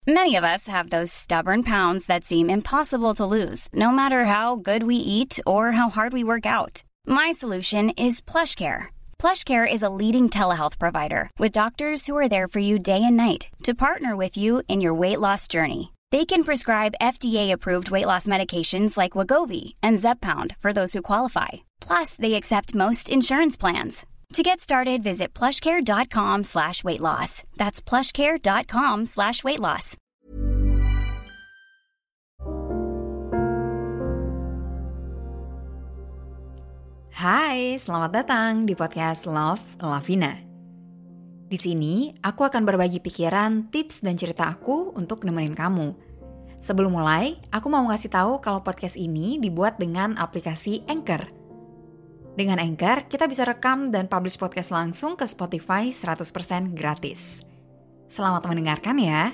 Many of us have those stubborn pounds that seem impossible to lose, no matter how good we eat or how hard we work out. My solution is PlushCare. PlushCare is a leading telehealth provider with doctors who are there for you day and night to partner with you in your weight loss journey. They can prescribe FDA-approved weight loss medications like Wegovy and Zepbound for those who qualify. Plus, they accept most insurance plans. To get started, visit plushcare.com/weightloss. That's plushcare.com/weightloss. Hai, selamat datang di podcast Love Lavina. Di sini, aku akan berbagi pikiran, tips, dan cerita aku untuk nemenin kamu. Sebelum mulai, aku mau ngasih tahu kalau podcast ini dibuat dengan aplikasi Anchor. Dengan Anchor, kita bisa rekam dan publish podcast langsung ke Spotify 100% gratis. Selamat mendengarkan ya.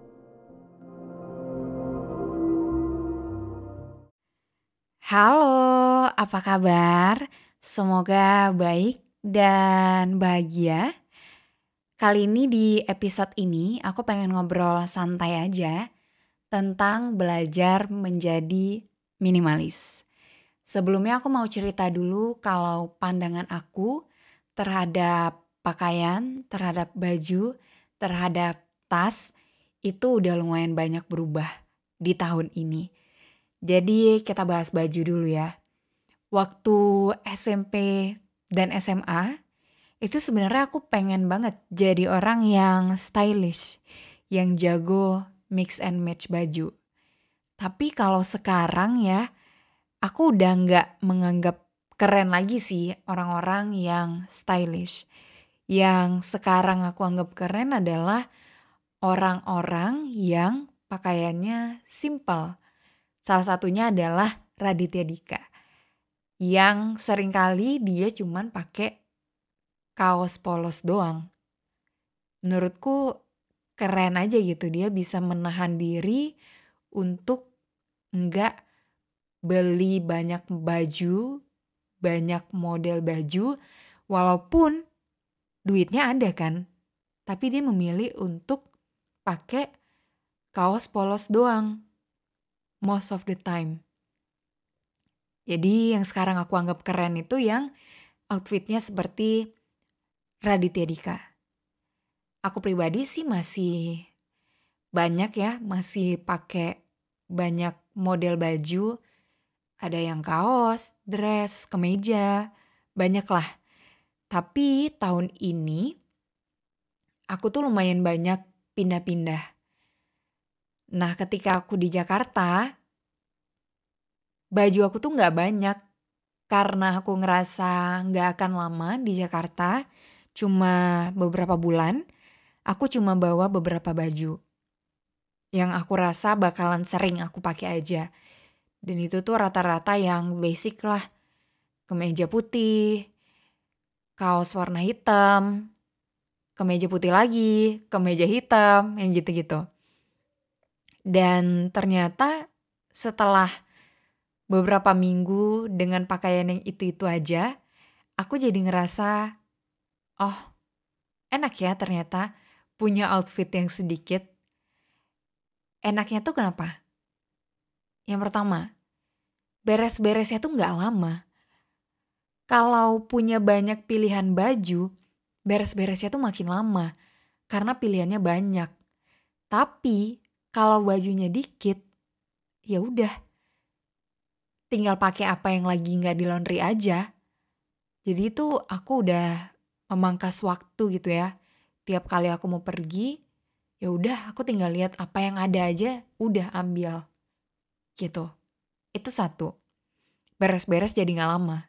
Halo, apa kabar? Semoga baik dan bahagia. Kali ini di episode ini aku pengen ngobrol santai aja tentang belajar menjadi minimalis. Sebelumnya aku mau cerita dulu kalau pandangan aku terhadap pakaian, terhadap baju, terhadap tas itu udah lumayan banyak berubah di tahun ini. Jadi kita bahas baju dulu ya. Waktu SMP dan SMA itu sebenarnya aku pengen banget jadi orang yang stylish, yang jago mix and match baju. Tapi kalau sekarang ya, aku udah nggak menganggap keren lagi sih orang-orang yang stylish. Yang sekarang aku anggap keren adalah orang-orang yang pakaiannya simple. Salah satunya adalah Raditya Dika. Yang seringkali dia cuman pakai kaos polos doang. Menurutku keren aja gitu, dia bisa menahan diri untuk nggak beli banyak baju, banyak model baju, walaupun duitnya ada kan. Tapi dia memilih untuk pakai kaos polos doang, most of the time. Jadi yang sekarang aku anggap keren itu yang outfitnya seperti Raditya Dika. Aku pribadi sih masih banyak ya, masih pakai banyak model baju. Ada yang kaos, dress, kemeja, banyak lah. Tapi tahun ini aku tuh lumayan banyak pindah-pindah. Nah ketika aku di Jakarta, baju aku tuh gak banyak. Karena aku ngerasa gak akan lama di Jakarta, cuma beberapa bulan, aku cuma bawa beberapa baju. Yang aku rasa bakalan sering aku pakai aja. Dan itu tuh rata-rata yang basic lah. Kemeja putih, kaos warna hitam, kemeja putih lagi, kemeja hitam, yang gitu-gitu. Dan ternyata setelah beberapa minggu dengan pakaian yang itu-itu aja, aku jadi ngerasa, oh enak ya ternyata punya outfit yang sedikit. Enaknya tuh kenapa? Yang pertama, beres-beresnya tuh gak lama. Kalau punya banyak pilihan baju, beres-beresnya tuh makin lama. Karena pilihannya banyak. Tapi kalau bajunya dikit, ya udah. Tinggal pakai apa yang lagi gak di laundry aja. Jadi itu aku udah memangkas waktu gitu ya. Tiap kali aku mau pergi, ya udah aku tinggal lihat apa yang ada aja, udah ambil. Gitu. Itu satu. Beres-beres jadi gak lama.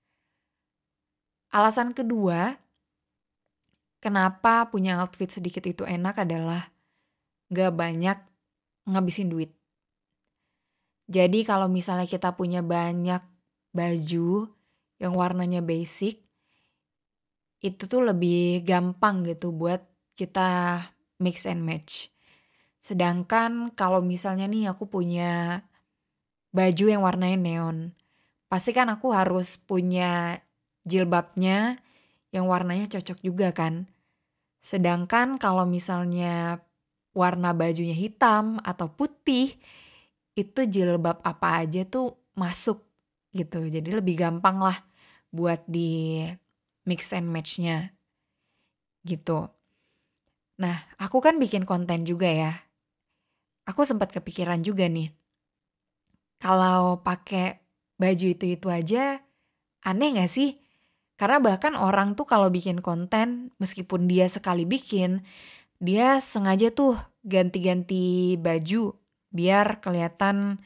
Alasan kedua, kenapa punya outfit sedikit itu enak adalah gak banyak ngabisin duit. Jadi kalau misalnya kita punya banyak baju yang warnanya basic, itu tuh lebih gampang gitu buat kita mix and match. Sedangkan kalau misalnya nih aku punya baju yang warnanya neon, pasti kan aku harus punya jilbabnya yang warnanya cocok juga kan. Sedangkan kalau misalnya warna bajunya hitam atau putih, itu jilbab apa aja tuh masuk gitu. Jadi lebih gampang lah buat di mix and match-nya gitu. Nah, aku kan bikin konten juga ya. Aku sempat kepikiran juga nih, kalau pakai baju itu aja aneh gak sih? Karena bahkan orang tuh kalau bikin konten, meskipun dia sekali bikin, dia sengaja tuh ganti-ganti baju biar kelihatan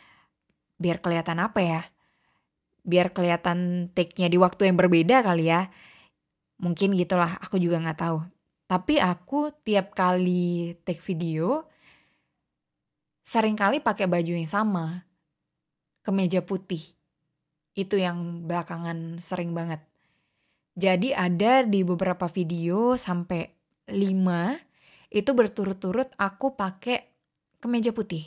apa ya? Biar kelihatan take-nya di waktu yang berbeda kali ya. Mungkin gitulah, aku juga nggak tahu. Tapi aku tiap kali take video seringkali pakai baju yang sama, kemeja putih. Itu yang belakangan sering banget. Jadi ada di beberapa video sampai 5 itu berturut-turut aku pakai kemeja putih.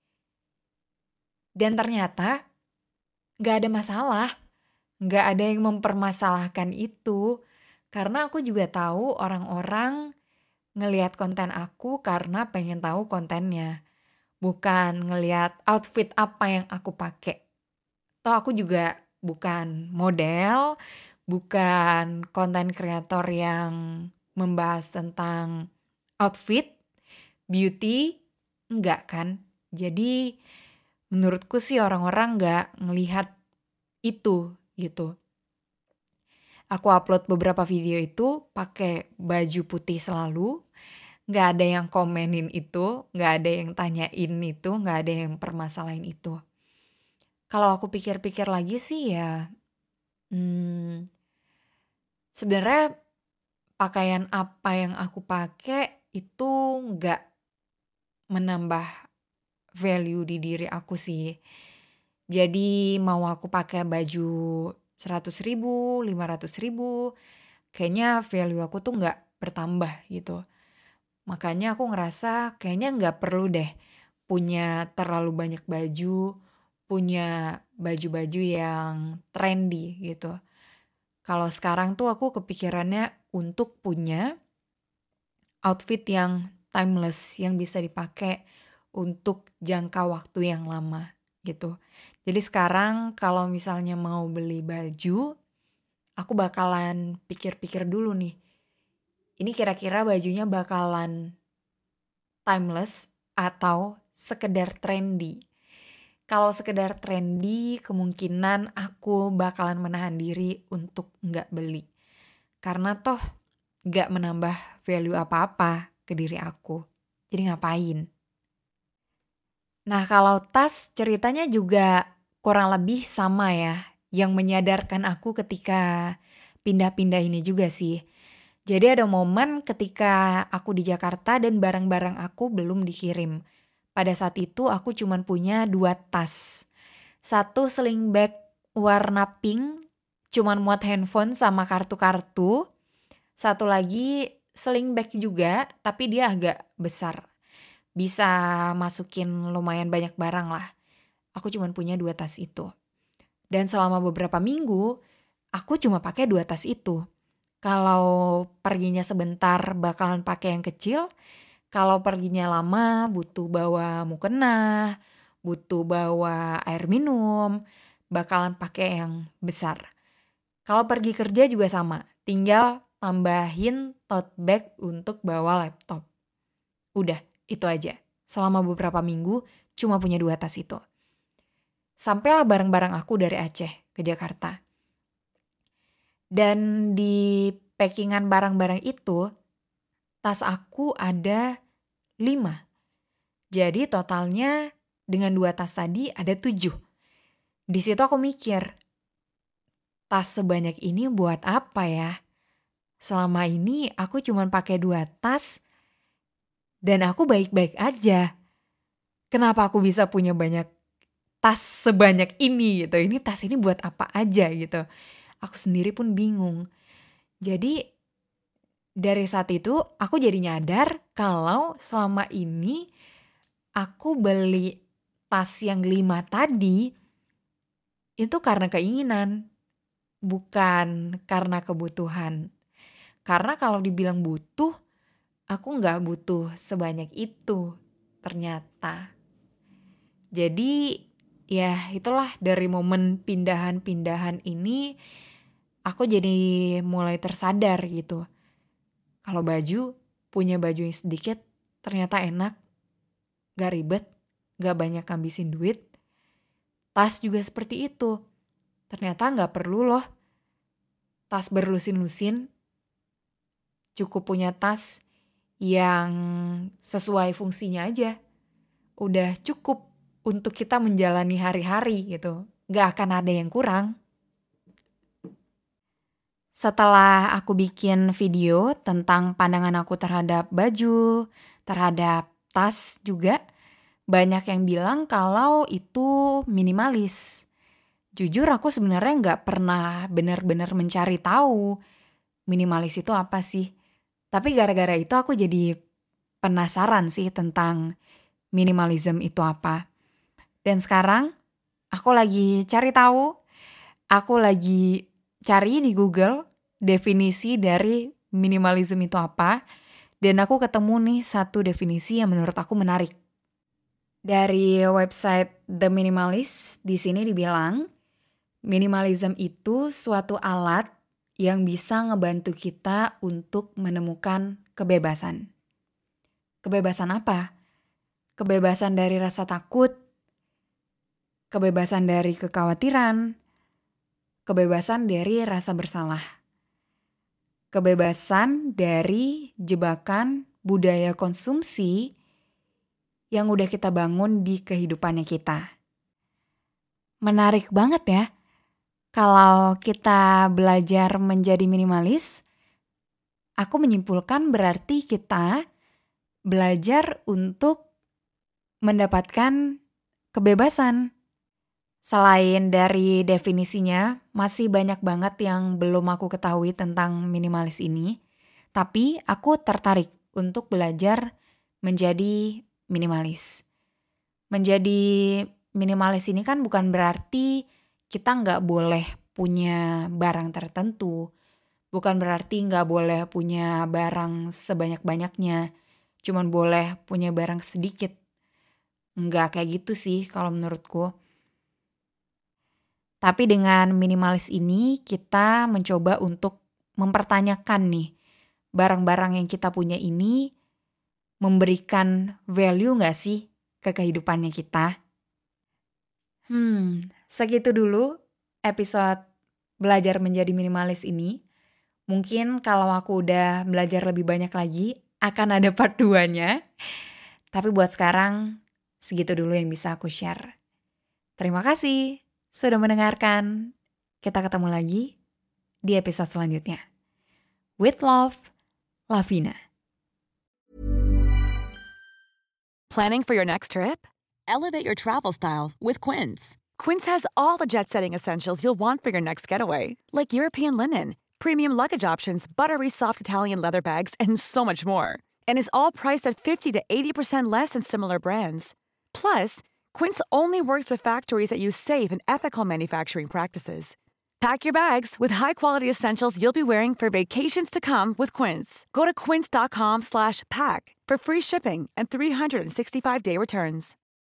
Dan ternyata gak ada masalah. Gak ada yang mempermasalahkan itu. Karena aku juga tahu orang-orang ngelihat konten aku karena pengen tahu kontennya. Bukan ngelihat outfit apa yang aku pakai. Toh aku juga bukan model, bukan konten kreator yang membahas tentang outfit, beauty, enggak kan. Jadi menurutku sih orang-orang enggak ngelihat itu gitu. Aku upload beberapa video itu pakai baju putih selalu. Enggak ada yang komenin itu, enggak ada yang tanyain itu, enggak ada yang permasalahin itu. Kalau aku pikir-pikir lagi sih ya, sebenarnya pakaian apa yang aku pakai itu nggak menambah value di diri aku sih. Jadi mau aku pakai baju 100.000, 500.000, kayaknya value aku tuh nggak bertambah gitu. Makanya aku ngerasa kayaknya nggak perlu deh punya terlalu banyak baju, punya baju-baju yang trendy gitu. Kalau sekarang tuh aku kepikirannya untuk punya outfit yang timeless, yang bisa dipakai untuk jangka waktu yang lama gitu. Jadi sekarang kalau misalnya mau beli baju, aku bakalan pikir-pikir dulu nih. Ini kira-kira bajunya bakalan timeless atau sekedar trendy. Kalau sekedar trendy, kemungkinan aku bakalan menahan diri untuk nggak beli. Karena toh nggak menambah value apa-apa ke diri aku. Jadi ngapain? Nah kalau tas ceritanya juga kurang lebih sama ya. Yang menyadarkan aku ketika pindah-pindah ini juga sih. Jadi ada momen ketika aku di Jakarta dan barang-barang aku belum dikirim. Pada saat itu aku cuma punya 2 tas. Satu sling bag warna pink, cuman muat handphone sama kartu-kartu. Satu lagi sling bag juga, tapi dia agak besar. Bisa masukin lumayan banyak barang lah. Aku cuma punya 2 tas itu. Dan selama beberapa minggu, aku cuma pakai 2 tas itu. Kalau perginya sebentar bakalan pakai yang kecil. Kalau perginya lama butuh bawa mukena, butuh bawa air minum, bakalan pakai yang besar. Kalau pergi kerja juga sama, tinggal tambahin tote bag untuk bawa laptop. Udah, itu aja. Selama beberapa minggu cuma punya 2 tas itu. Sampailah barang-barang aku dari Aceh ke Jakarta. Dan di packingan barang-barang itu, tas aku ada 5. Jadi totalnya dengan 2 tas tadi ada 7. Di situ aku mikir, tas sebanyak ini buat apa ya? Selama ini aku cuma pakai 2 tas dan aku baik-baik aja. Kenapa aku bisa punya banyak tas sebanyak ini gitu? Ini tas ini buat apa aja gitu? Aku sendiri pun bingung. Jadi dari saat itu aku jadi nyadar kalau selama ini aku beli tas yang 5 tadi itu karena keinginan, bukan karena kebutuhan. Karena kalau dibilang butuh, aku nggak butuh sebanyak itu ternyata. Jadi ya itulah, dari momen pindahan-pindahan ini aku jadi mulai tersadar gitu. Kalau punya baju yang sedikit ternyata enak, gak ribet, gak banyak ngabisin duit. Tas juga seperti itu. Ternyata gak perlu loh tas berlusin-lusin. Cukup punya tas yang sesuai fungsinya aja. Udah cukup untuk kita menjalani hari-hari gitu. Gak akan ada yang kurang. Setelah aku bikin video tentang pandangan aku terhadap baju, terhadap tas juga, banyak yang bilang kalau itu minimalis. Jujur aku sebenarnya nggak pernah benar-benar mencari tahu minimalis itu apa sih. Tapi gara-gara itu aku jadi penasaran sih tentang minimalism itu apa. Dan sekarang aku lagi cari tahu, aku lagi cari di Google definisi dari minimalism itu apa. Dan aku ketemu nih satu definisi yang menurut aku menarik. Dari website The Minimalist, di sini dibilang, minimalism itu suatu alat yang bisa ngebantu kita untuk menemukan kebebasan. Kebebasan apa? Kebebasan dari rasa takut, kebebasan dari kekhawatiran, kebebasan dari rasa bersalah, kebebasan dari jebakan budaya konsumsi yang udah kita bangun di kehidupannya kita. Menarik banget ya, kalau kita belajar menjadi minimalis, aku menyimpulkan berarti kita belajar untuk mendapatkan kebebasan. Selain dari definisinya, masih banyak banget yang belum aku ketahui tentang minimalis ini. Tapi aku tertarik untuk belajar menjadi minimalis. Menjadi minimalis ini kan bukan berarti kita nggak boleh punya barang tertentu. Bukan berarti nggak boleh punya barang sebanyak-banyaknya. Cuman boleh punya barang sedikit. Nggak kayak gitu sih kalau menurutku. Tapi dengan minimalis ini kita mencoba untuk mempertanyakan nih, barang-barang yang kita punya ini memberikan value gak sih ke kehidupannya kita? Segitu dulu episode belajar menjadi minimalis ini. Mungkin kalau aku udah belajar lebih banyak lagi, akan ada part 2-nya. Tapi buat sekarang, segitu dulu yang bisa aku share. Terima kasih sudah mendengarkan. Kita ketemu lagi di episode selanjutnya. With love, Lavina. Planning for your next trip? Elevate your travel style with Quince. Quince has all the jet-setting essentials you'll want for your next getaway, like European linen, premium luggage options, buttery soft Italian leather bags, and so much more. And is all priced at 50 to 80% less than similar brands. Plus, Quince only works with factories that use safe and ethical manufacturing practices. Pack your bags with high-quality essentials you'll be wearing for vacations to come with Quince. Go to quince.com/pack for free shipping and 365-day returns.